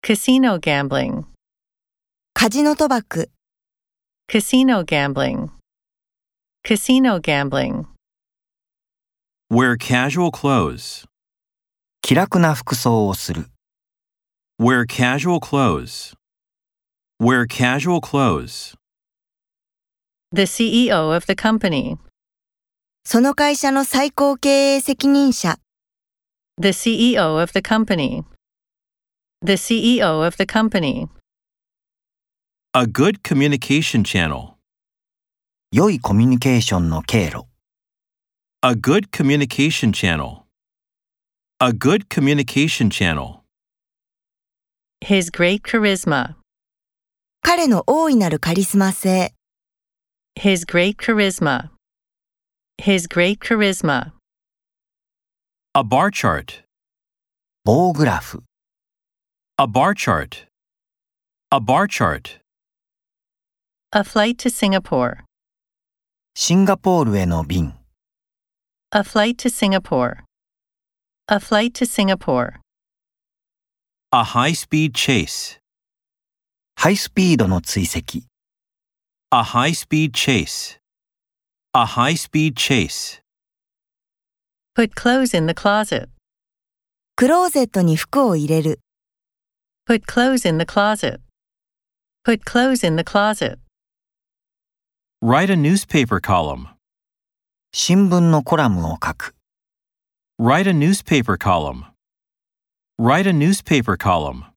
Casino gambling. カジノ賭博、 Casino gambling. Casino gambling. Wear casual clothes. 気楽な服装をする。 Wear casual clothes. Wear casual clothes. The CEO of the company. その会社の最高経営責任者、 The CEO of the company. The CEO of the company. A good communication channel. 良いコミュニケーションの経路。 A good communication channel. A good communication channel. His great charisma. 彼の大いなるカリスマ性、 His great charisma. His great charisma. A bar chart. 棒グラフ。 A bar chart. A bar chart. A flight to Singapore. シンガポールへの便。 A flight to Singapore. A flight to Singapore. A high-speed chase. ハイスピードの追跡。 A high-speed chase. A high-speed chase. Put clothes in the closet. クローゼットに服を入れる、 Put clothes in the closet. Put clothes in the closet. Write a newspaper column. 新聞のコラムを書く。 Write a newspaper column. Write a newspaper column.